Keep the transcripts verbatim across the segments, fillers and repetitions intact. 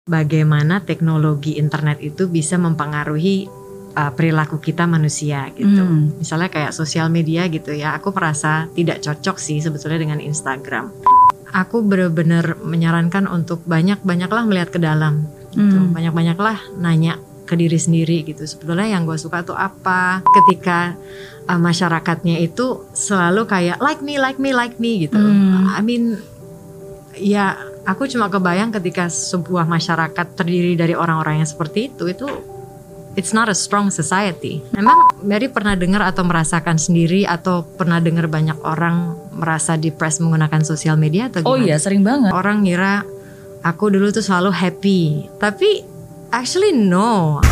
bagaimana teknologi internet itu bisa mempengaruhi uh, perilaku kita manusia gitu. Hmm. Misalnya kayak sosial media gitu ya, aku merasa tidak cocok sih sebetulnya dengan Instagram. Aku benar-benar menyarankan untuk banyak-banyaklah melihat ke dalam gitu. Hmm. Banyak-banyaklah nanya ke diri sendiri gitu. Sebetulnya yang gue suka tuh apa? Ketika uh, masyarakatnya itu selalu kayak like me, like me, like me gitu. Hmm. I mean, ya aku cuma kebayang ketika sebuah masyarakat terdiri dari orang-orang yang seperti itu, itu it's not a strong society. Memang Mary pernah dengar atau merasakan sendiri atau pernah dengar banyak orang merasa depressed menggunakan sosial media atau gimana? Oh iya, sering banget. Orang ngira aku dulu tuh selalu happy, tapi actually no.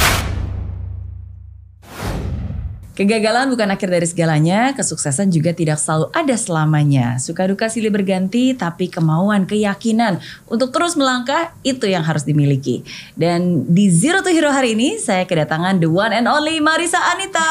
Kegagalan bukan akhir dari segalanya, kesuksesan juga tidak selalu ada selamanya. Suka duka silih berganti, tapi kemauan, keyakinan untuk terus melangkah itu yang harus dimiliki. Dan di Zero to Hero hari ini, saya kedatangan the one and only Marissa Anita.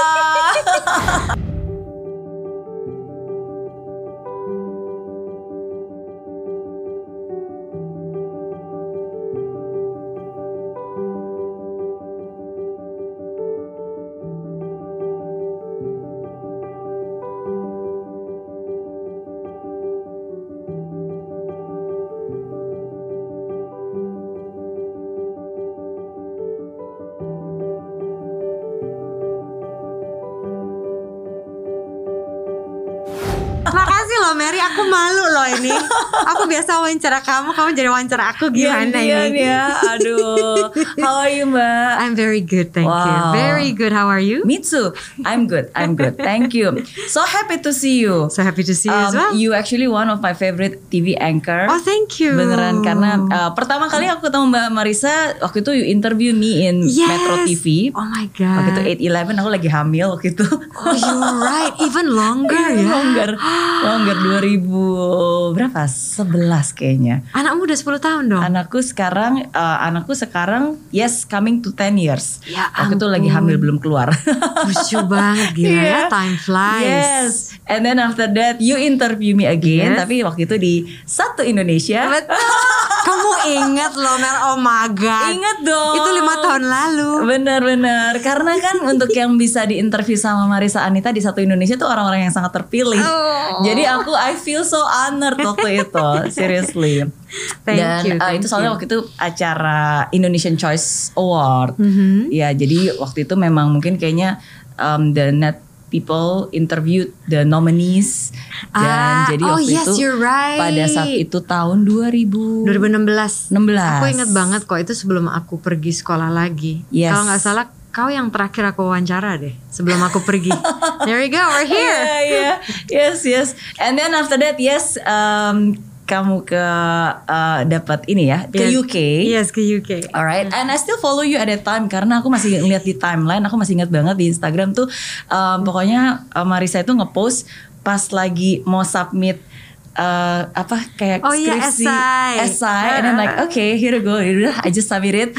Makasih loh Mary, aku malu loh ini. Aku biasa wawancara kamu, kamu jadi wawancara aku, gimana ya, ini? Ya, aduh. How are you, Mbak? I'm very good, thank wow. you. Very good. How are you? Me too. I'm good. I'm good. Thank you. So happy to see you. So happy to see you um, as well. You actually one of my favorite T V anchor. Oh, thank you. Beneran, karena uh, pertama kali aku ketemu Mbak Marissa waktu itu you interview me in yes. Metro T V. Oh my god. Waktu itu eight eleven aku lagi hamil waktu itu. Oh, you're right. Even longer ya. Longer. Longer dua ribu berapa? sebelas kayaknya. Anakmu udah sepuluh tahun dong? Anakku sekarang uh, anakku sekarang yes coming to ten years. Ya waktu itu lagi hamil belum keluar. Lucu banget, gila yeah. ya, time flies. Yes. And then after that you interview me again, yes. tapi waktu itu di Satu Indonesia. Betul. Kamu ingat loh Mer, oh my god. Ingat dong. Itu lima tahun lalu. Benar-benar. Karena kan untuk yang bisa diinterview sama Marissa Anita di Satu Indonesia tuh orang-orang yang sangat terpilih. Oh. Jadi aku I feel so honored waktu itu. Seriously. Thank Dan you, uh, itu soalnya you. waktu itu acara Indonesian Choice Award. Mm-hmm. Ya, jadi waktu itu memang mungkin kayaknya um, the net people interviewed the nominees dan ah, jadi oh waktu yes, itu you're right. pada saat itu tahun dua ribu enam belas. enam belas. Aku ingat banget kok, itu sebelum aku pergi sekolah lagi. Yes. Kalau nggak salah kau yang terakhir aku wawancara deh sebelum aku pergi. There we go, we're here. Yeah, yeah. Yes, yes. And then after that, yes, um, kamu ke uh, dapat ini ya ke yes. U K. Yes, ke U K. Alright, and I still follow you at that time karena aku masih ngeliat di timeline, aku masih ingat banget di Instagram tuh, um, pokoknya uh, Marissa itu ngepost pas lagi mau submit uh, apa kayak oh, skripsi, yeah, essay, essay uh, and I'm like, okay, here we go, I just submit it.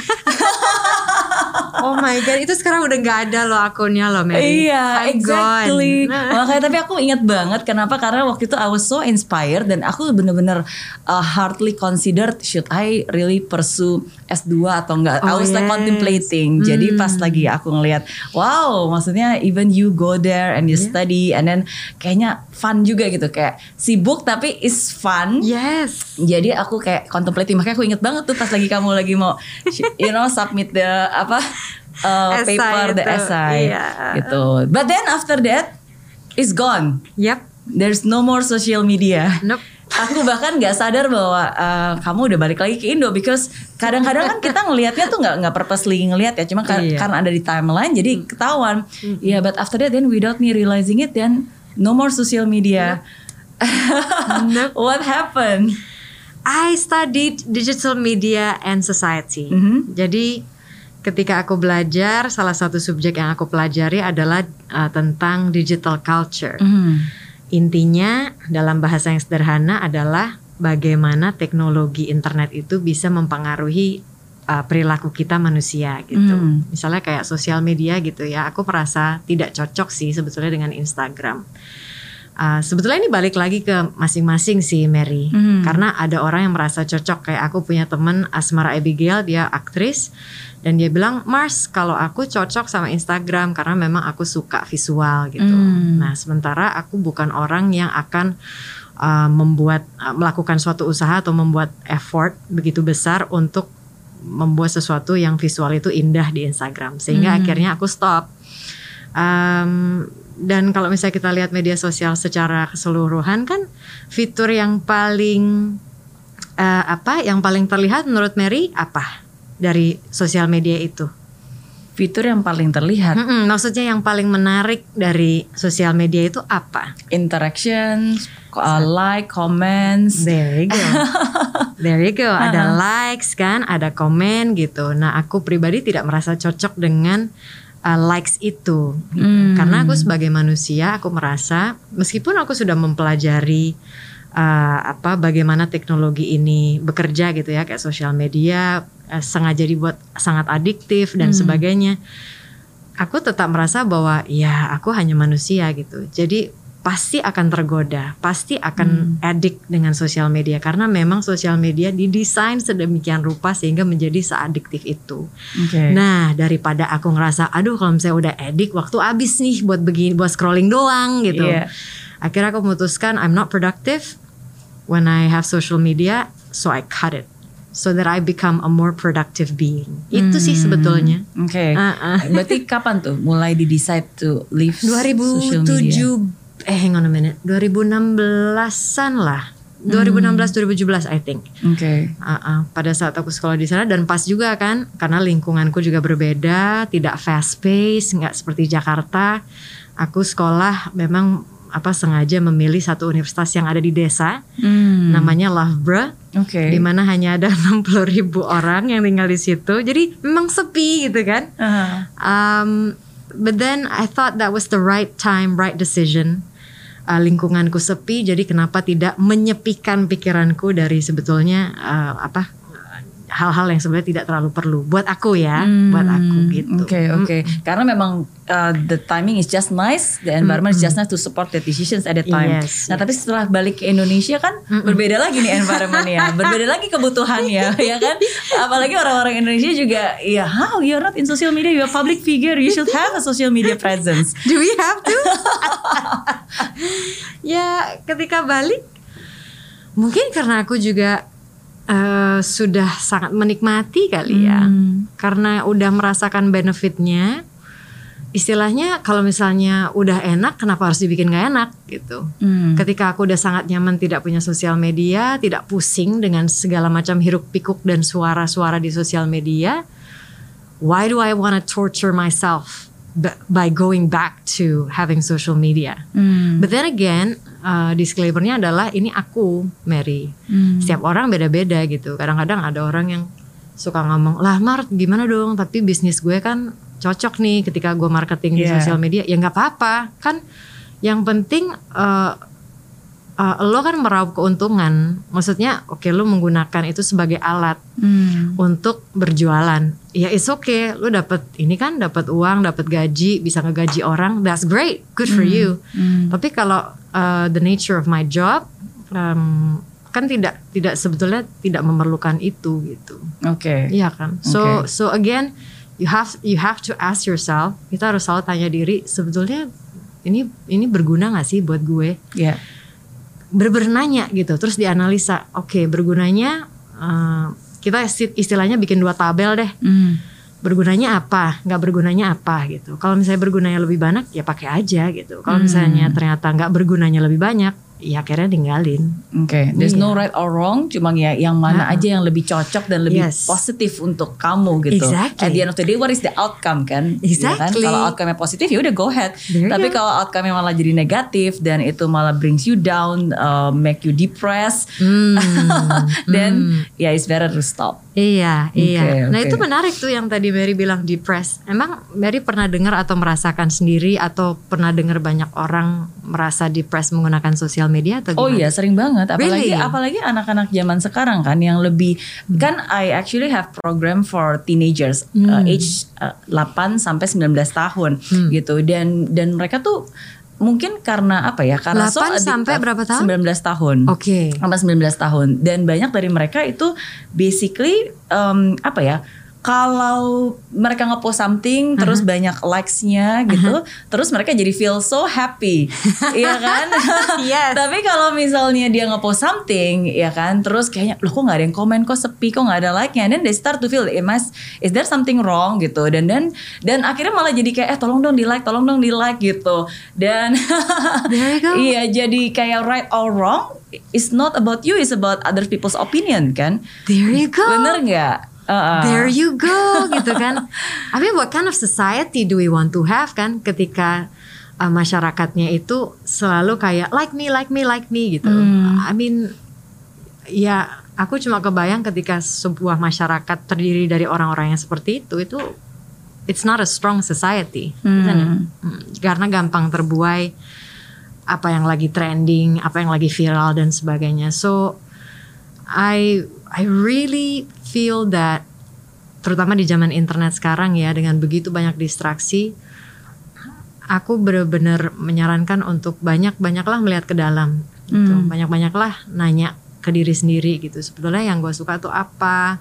Oh my god, itu sekarang udah gak ada loh akunnya loh Mary. Iya, I'm exactly. gone. Makanya tapi aku ingat banget kenapa, karena waktu itu I was so inspired dan aku bener-bener uh, hardly considered should I really pursue S two atau enggak. Oh, I was yes. like contemplating. Hmm. Jadi pas lagi aku ngelihat, wow, maksudnya even you go there and you yeah. study and then kayaknya fun juga gitu, kayak sibuk tapi is fun. Yes. Jadi aku kayak contemplating, makanya aku inget banget tuh pas lagi kamu lagi mau you know submit the apa Uh, paper the essay yeah. gitu. But then after that it's gone. Yep. There's no more social media. Nope. Aku bahkan nggak sadar bahwa uh, kamu udah balik lagi ke Indo, because kadang-kadang kan kita ngelihatnya tuh nggak nggak purposely ngelihat ya, cuma kar- yeah. karena ada di timeline jadi ketahuan. Mm-hmm. Yeah, but after that then without me realizing it, then no more social media. Nope. What happened? I studied digital media and society. Mm-hmm. Jadi ketika aku belajar, salah satu subjek yang aku pelajari adalah uh, tentang digital culture. Mm. Intinya dalam bahasa yang sederhana adalah bagaimana teknologi internet itu bisa mempengaruhi uh, perilaku kita manusia gitu. Mm. Misalnya kayak sosial media gitu ya, aku merasa tidak cocok sih sebetulnya dengan Instagram. Uh, sebetulnya ini balik lagi ke masing-masing sih Mary, hmm. karena ada orang yang merasa cocok. Kayak aku punya temen Asmara Abigail, dia aktris, dan dia bilang, Mars kalau aku cocok sama Instagram karena memang aku suka visual gitu. Hmm. Nah sementara aku bukan orang yang akan uh, membuat uh, melakukan suatu usaha atau membuat effort begitu besar untuk membuat sesuatu yang visual itu indah di Instagram, sehingga hmm. akhirnya aku stop. Um, dan kalau misalnya kita lihat media sosial secara keseluruhan kan fitur yang paling uh, apa yang paling terlihat menurut Mary apa dari sosial media itu? Fitur yang paling terlihat. Mm-mm, maksudnya yang paling menarik dari sosial media itu apa? Interaction, uh, like, comments. There you go. There you go. Ada likes kan, ada komen gitu. Nah aku pribadi tidak merasa cocok dengan Uh, likes itu gitu. hmm. Karena aku sebagai manusia aku merasa meskipun aku sudah mempelajari uh, apa bagaimana teknologi ini bekerja gitu ya, kayak sosial media uh, sengaja dibuat sangat adiktif dan hmm. sebagainya, aku tetap merasa bahwa ya aku hanya manusia gitu. Jadi pasti akan tergoda, pasti akan hmm. addict dengan sosial media karena memang sosial media didesain sedemikian rupa sehingga menjadi seadiktif itu. Okay. Nah daripada aku ngerasa, aduh kalau misalnya udah addict, waktu habis nih buat begini, buat scrolling doang gitu. Yeah. Akhirnya aku memutuskan I'm not productive when I have social media, so I cut it. So that I become a more productive being. Itu hmm. sih sebetulnya. Oke. Okay. Uh-uh. Berarti kapan tuh mulai di decide to leave dua ribu tujuh, social media? Eh hang on a minute, dua ribu enam belasan lah, dua ribu enam belas dua ribu tujuh belas I think. Oke. Okay. Uh-uh. Pada saat aku sekolah di sana dan pas juga kan, karena lingkunganku juga berbeda, tidak fast pace, nggak seperti Jakarta. Aku sekolah memang apa sengaja memilih satu universitas yang ada di desa, hmm. namanya Loughborough. Oke. Okay. Di mana hanya ada enam puluh ribu orang yang tinggal di situ, jadi memang sepi gitu kan. Uh-huh. Um, but then I thought that was the right time, right decision. Uh, lingkunganku sepi, jadi kenapa tidak menyepikan pikiranku dari sebetulnya uh, apa hal-hal yang sebenarnya tidak terlalu perlu buat aku ya, hmm, buat aku gitu. Oke okay, oke. Okay. Hmm. Karena memang uh, the timing is just nice, the environment hmm. is just nice to support the decisions at the time. Yes, nah yes. tapi setelah balik ke Indonesia kan hmm. berbeda lagi nih environmentnya, berbeda lagi kebutuhannya, ya kan? Apalagi orang-orang Indonesia juga, ya how you're not in social media, you're a public figure, you should have a social media presence. Do we have to? Ya ketika balik, mungkin karena aku juga Uh, sudah sangat menikmati kali ya, hmm. karena udah merasakan benefitnya. Istilahnya kalau misalnya udah enak, kenapa harus dibikin gak enak gitu. Hmm. Ketika aku udah sangat nyaman tidak punya sosial media, tidak pusing dengan segala macam hiruk pikuk dan suara-suara di sosial media, why do I wanna torture myself by going back to having social media? Hmm. But then again, uh, disclaimer-nya adalah ini aku, Mary. Hmm. Setiap orang beda-beda gitu. Kadang-kadang ada orang yang suka ngomong, lah Mar gimana dong, tapi bisnis gue kan cocok nih ketika gue marketing yeah. di sosial media. Ya gak apa-apa, kan yang penting uh, uh, lo kan meraup keuntungan. Maksudnya oke okay, lo menggunakan itu sebagai alat hmm. untuk berjualan. Ya it's okay, lo dapat ini kan, dapat uang, dapat gaji, bisa ngegaji orang, that's great, good for hmm. you. Hmm. Tapi kalau uh, the nature of my job um, kan tidak tidak sebetulnya tidak memerlukan itu gitu. Oke. Okay. Iya kan. So okay. so again, you have you have to ask yourself. Kita harus selalu tanya diri, sebetulnya ini ini berguna nggak sih buat gue? Iya. Yeah. Berbernanya gitu, terus dianalisa. Oke, okay, bergunanya. Uh, kita istilahnya bikin dua tabel deh. Mm. Bergunanya apa, nggak bergunanya apa gitu. Kalau misalnya bergunanya lebih banyak, ya pakai aja gitu. Kalau mm. misalnya ternyata nggak bergunanya lebih banyak, ya akhirnya tinggalin. Oke, okay. There's yeah. no right or wrong, cuma ya yang mana nah. aja yang lebih cocok dan lebih yes. positif untuk kamu gitu. Exactly. At the end of the day, what is the outcome kan? Exactly. Ya kan? Kalau outcome-nya positif, ya udah go ahead. There Tapi kalau outcome-nya malah jadi negatif dan itu malah brings you down, uh, make you depressed, mm. then mm. ya yeah, it's better to stop. Iya, okay, iya. Nah okay. itu menarik tuh yang tadi Mary bilang depressed. Emang Mary pernah dengar atau merasakan sendiri atau pernah dengar banyak orang merasa depressed menggunakan sosial media atau gimana? Oh iya, sering banget. Apalagi really? apalagi anak-anak zaman sekarang kan yang lebih hmm. kan I actually have program for teenagers hmm. uh, age uh, delapan sampai sembilan belas tahun hmm. gitu dan dan mereka tuh mungkin karena apa ya? Karena delapan sampai berapa tahun? sembilan belas tahun. Oke. Okay. Sampai sembilan belas tahun. Dan banyak dari mereka itu basically um, apa ya? Kalau mereka ngepost something uh-huh. terus banyak likes-nya gitu, uh-huh. terus mereka jadi feel so happy, iya kan? Yes. Tapi kalau misalnya dia ngepost something, ya kan, terus kayaknya loh kok nggak ada yang komen, kok sepi, kok nggak ada like-nya, dan they start to feel, is, is there something wrong gitu, dan dan dan akhirnya malah jadi kayak eh tolong dong di like, tolong dong di like gitu, dan there you go. Iya jadi kayak right or wrong, it's not about you, it's about other people's opinion kan? There you go. Bener nggak? Uh-uh. There you go gitu kan. I mean what kind of society do we want to have kan ketika uh, masyarakatnya itu selalu kayak like me, like me, like me gitu. Hmm. I mean ya aku cuma kebayang ketika sebuah masyarakat terdiri dari orang-orang yang seperti itu, itu it's not a strong society. Hmm. Karena gampang terbuai apa yang lagi trending, apa yang lagi viral dan sebagainya. So I I really feel that terutama di zaman internet sekarang ya, dengan begitu banyak distraksi, aku benar-benar menyarankan untuk banyak-banyaklah melihat ke dalam gitu. Hmm. Banyak-banyaklah nanya ke diri sendiri gitu. Sebetulnya yang gue suka tuh apa,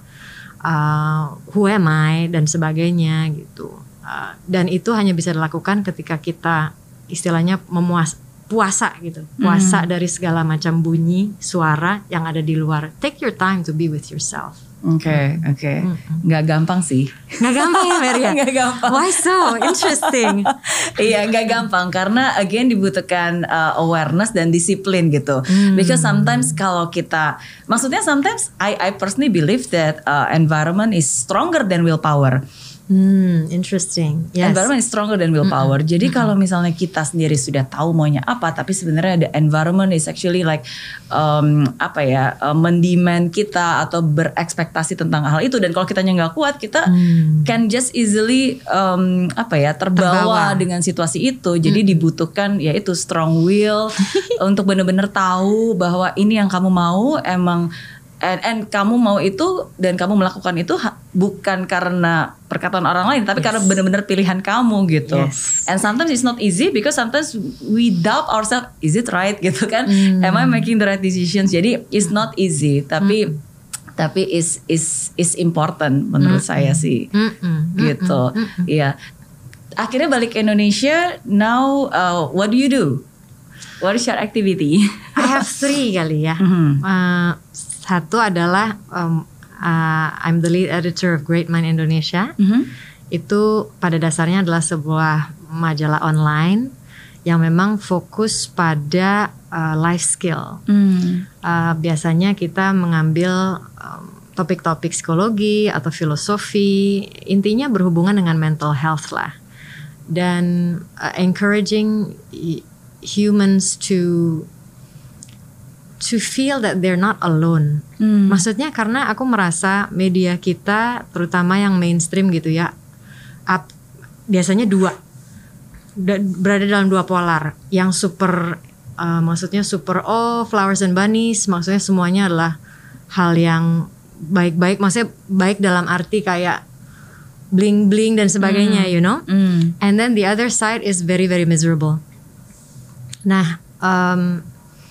uh, who am I dan sebagainya gitu. Uh, dan itu hanya bisa dilakukan ketika kita istilahnya memuas puasa gitu, puasa mm. dari segala macam bunyi, suara yang ada di luar. Take your time to be with yourself. Oke, okay, oke, okay. mm-hmm. Nggak gampang sih. Nggak gampang ya Maria? Nggak gampang. Why so interesting? Iya, nggak gampang karena again dibutuhkan uh, awareness dan disiplin gitu. Mm. Because sometimes kalau kita, maksudnya sometimes I I personally believe that uh, environment is stronger than willpower. Hmm, interesting. Yes. Environment is stronger than willpower. Mm-hmm. Jadi mm-hmm. kalau misalnya kita sendiri sudah tahu maunya apa, tapi sebenarnya the environment is actually like um, apa ya, uh, mendemand kita atau berekspektasi tentang hal itu. Dan kalau kitanya nggak kuat, kita mm. can just easily um, apa ya terbawa, terbawa dengan situasi itu. Jadi mm. dibutuhkan yaitu strong will untuk benar-benar tahu bahwa ini yang kamu mau emang. And, and kamu mau itu dan kamu melakukan itu ha, bukan karena perkataan orang lain, tapi yes. karena benar-benar pilihan kamu gitu. Yes. And sometimes it's not easy because sometimes we doubt ourselves, is it right gitu kan? Mm. Am I making the right decisions? Jadi it's not easy, tapi mm. tapi is is is important menurut mm. saya sih, mm-mm. gitu. Iya. Yeah. Akhirnya balik ke Indonesia. Now uh, what do you do? What is your activity? I have three kali ya. Mm-hmm. Uh, Satu adalah um, uh, I'm the lead editor of Great Mind Indonesia. Mm-hmm. Itu pada dasarnya adalah sebuah majalah online yang memang fokus pada uh, life skill. Mm. Uh, biasanya kita mengambil um, topik-topik psikologi atau filosofi, intinya berhubungan dengan mental health lah, dan uh, encouraging humans to to feel that they're not alone. Hmm. Maksudnya karena aku merasa media kita, terutama yang mainstream gitu ya, up, biasanya dua, berada dalam dua polar. Yang super, uh, maksudnya super oh flowers and bunnies, maksudnya semuanya adalah hal yang baik-baik, maksudnya baik dalam arti kayak bling-bling dan sebagainya, hmm. you know. Hmm. And then the other side is very very miserable. Nah, um,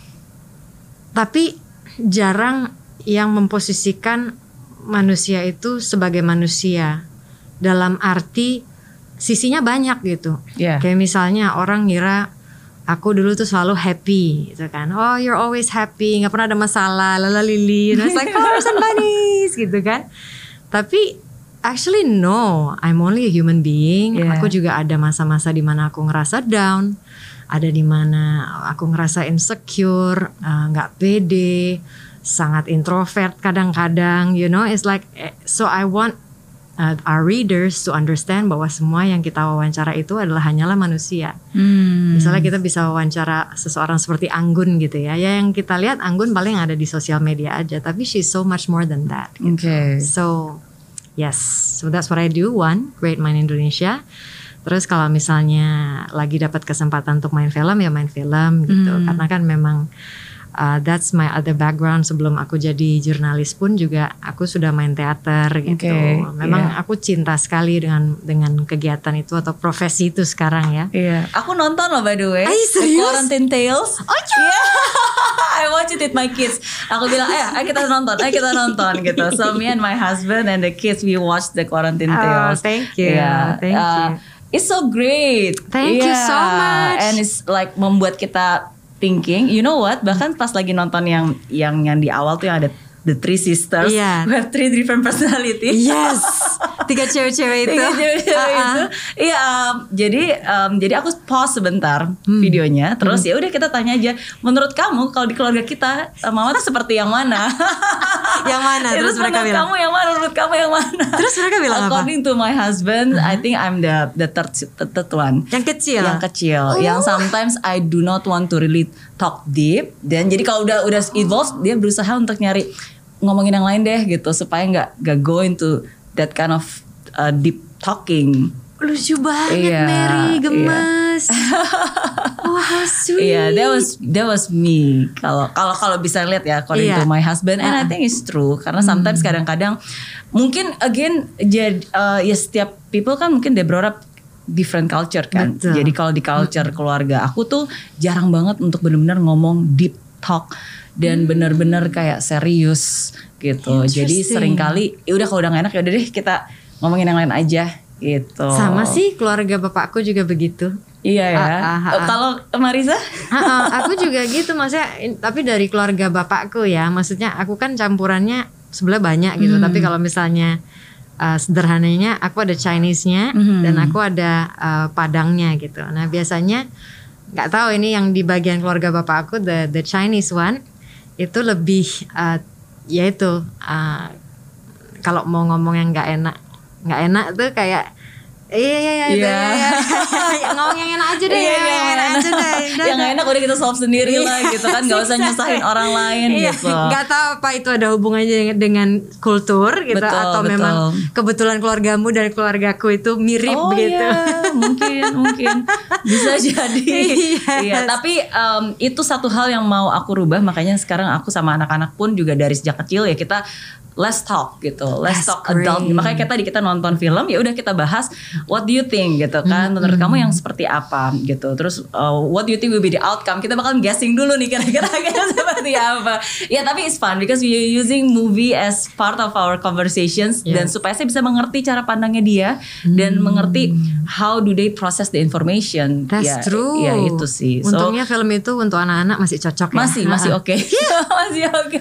tapi jarang yang memposisikan manusia itu sebagai manusia dalam arti sisinya banyak gitu. Yeah. Kayak misalnya orang ngira aku dulu tuh selalu happy gitu kan. Oh, you're always happy, nggak pernah ada masalah, lala lili, it's like flowers and bunnies gitu kan. Tapi actually no, I'm only a human being. Yeah. Aku juga ada masa-masa di mana aku ngerasa down. Ada di mana aku ngerasa insecure, nggak uh, pede, sangat introvert kadang-kadang, you know, it's like, so I want uh, our readers to understand bahwa semua yang kita wawancara itu adalah hanyalah manusia. Hmm. Misalnya kita bisa wawancara seseorang seperti Anggun gitu ya, ya yang kita lihat Anggun paling ada di sosial media aja, tapi she's so much more than that. Gitu. Okay. So yes, so that's what I do. One, Great Mind Indonesia. Terus kalau misalnya lagi dapat kesempatan untuk main film ya main film gitu, hmm. karena kan memang uh, that's my other background. Sebelum aku jadi jurnalis pun juga aku sudah main teater gitu. Okay, Memang yeah. aku cinta sekali dengan dengan kegiatan itu atau profesi itu sekarang ya. Iya, yeah. Aku nonton loh by the way. Ay, serius? Quarantine Tales. Oh yeah. I watch it with my kids. Aku bilang, eh, ayo kita nonton, ayo kita nonton gitu. So me and my husband and the kids we watch the Quarantine Tales. Oh, thank you. Yeah. Thank uh, you. It's so great. Thank you so much. And it's like membuat kita thinking, you know what? Bahkan pas lagi nonton yang yang yang di awal tuh yang ada the three sisters, yeah. who have three different personalities. Yes, tiga cewek-cewek itu. Tiga cewek-cewek uh-uh. itu. Iya, um, jadi um, jadi aku pause sebentar hmm. videonya, terus hmm. ya udah kita tanya aja, menurut kamu kalau di keluarga kita mama tuh seperti yang mana? Yang mana? Terus, terus mereka bilang, kamu yang mana? Menurut kamu yang mana? Terus mereka bilang apa? According to my husband, uh-huh. I think I'm the the third, the third one. Yang kecil. Yang kecil. Oh. Yang sometimes I do not want to really talk deep. Dan jadi kalau udah udah evolve, dia berusaha untuk nyari ngomongin yang lain deh gitu supaya nggak nggak go into that kind of uh, deep talking. Lucu banget, yeah, Mary, gemes. Yeah. Oh, how sweet. Yeah, that was that was me. Kalau kalau kalau bisa lihat ya, according yeah. to my husband, and uh. I think it's true. Karena sometimes hmm. kadang-kadang mungkin again jadi uh, ya setiap people kan mungkin they brought up different culture kan. Betul. Jadi kalau di culture hmm. keluarga aku tuh jarang banget untuk benar-benar ngomong deep talk dan hmm. benar-benar kayak serius gitu. Jadi seringkali ya udah kalau udah gak enak ya udah deh kita ngomongin yang lain aja gitu. Sama sih keluarga bapakku juga begitu. Iya ya. Ah, ah, ah. Kalau Marisa? Ah, ah, aku juga gitu maksudnya, tapi dari keluarga bapakku ya. Maksudnya aku kan campurannya sebelah banyak gitu. Hmm. Tapi kalau misalnya uh, sederhananya aku ada Chinese-nya hmm. dan aku ada uh, Padangnya gitu. Nah biasanya nggak tahu ini yang di bagian keluarga bapak aku the the Chinese one itu lebih uh, yaitu uh, kalau mau ngomong yang nggak enak nggak enak tuh kayak iya iya iya iya ngomong yang enak aja deh iya, yang, yang enak aja deh yang nggak enak udah kita solve sendiri lah gitu kan nggak usah nyusahin orang lain gitu nggak tahu apa itu ada hubungannya dengan kultur gitu betul, atau betul. Memang kebetulan keluargamu dan keluargaku itu mirip oh, begitu iya, mungkin mungkin bisa jadi yes. Iya tapi um, itu satu hal yang mau aku rubah makanya sekarang aku sama anak-anak pun juga dari sejak kecil ya kita let's talk gitu, let's That's talk great. Adult. Makanya kita tadi kita nonton film, ya udah kita bahas what do you think gitu kan, menurut mm-hmm. kamu yang seperti apa gitu. Terus uh, what do you think will be the outcome? Kita bakal guessing dulu nih kira-kira seperti apa. Ya tapi it's fun because we using movie as part of our conversations yeah. dan supaya saya bisa mengerti cara pandangnya dia mm. dan mengerti how do they process the information. That's ya, true. Ya itu sih. Untungnya so, film itu untuk anak-anak masih cocok ya. Masih masih oke, okay. masih oke.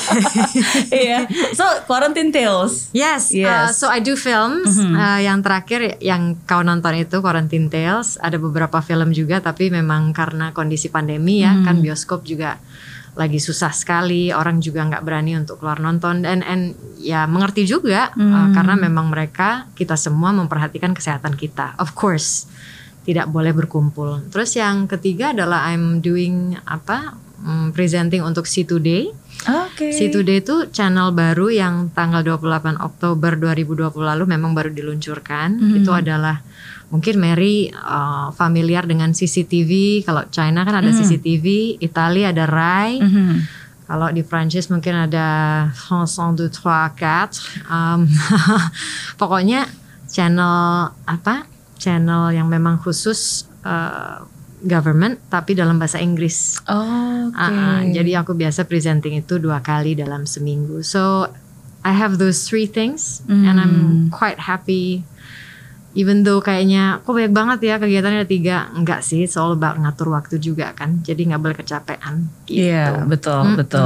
Iya. So Quarantine Tales. Yes, yes. Uh, so I do films. Mm-hmm. uh, Yang terakhir yang kau nonton itu Quarantine Tales. Ada beberapa film juga, tapi memang karena kondisi pandemi ya, mm. kan bioskop juga lagi susah sekali. Orang juga nggak berani untuk keluar nonton. Dan and, ya mengerti juga mm. uh, karena memang mereka kita semua memperhatikan kesehatan kita. Of course, tidak boleh berkumpul. Terus yang ketiga adalah I'm doing apa? Um, presenting untuk C Today. Okay. C Today itu channel baru yang tanggal dua puluh delapan Oktober dua ribu dua puluh lalu memang baru diluncurkan. Mm-hmm. Itu adalah mungkin Mary uh, familiar dengan C C T V. Kalau China kan ada mm-hmm. C C T V, Italia ada Rai. Mm-hmm. Kalau di Prancis mungkin ada France satu, dua, tiga, empat. Um, pokoknya channel apa? Channel yang memang khusus uh, government tapi dalam bahasa Inggris. Oh, okay. uh, jadi aku biasa presenting itu dua kali dalam seminggu. So I have those three things mm. and I'm quite happy. Even though kayaknya kok banyak banget ya kegiatannya ada tiga, enggak sih, it's all about ngatur waktu juga kan. Jadi nggak boleh kecapean. Gitu. Iya, yeah, betul, mm-hmm. betul.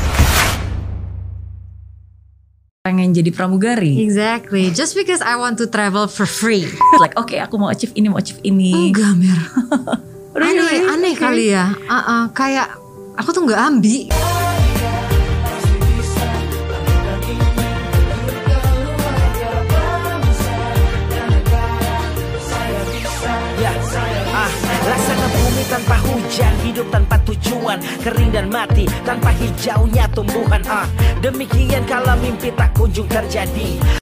Pengen jadi pramugari. Exactly. Just because I want to travel for free. Like oke, okay, aku mau achieve ini, mau achieve ini. Enggak, Mer. Really? Aneh, aneh okay. kali ya. Uh-uh, kayak aku tuh nggak ambi. Ya, ah, laksana bumi tanpa hujan, hidup tanpa tujuan, kering dan mati tanpa hijaunya tumbuhan. Ah, demikian kala mimpi tak kunjung terjadi.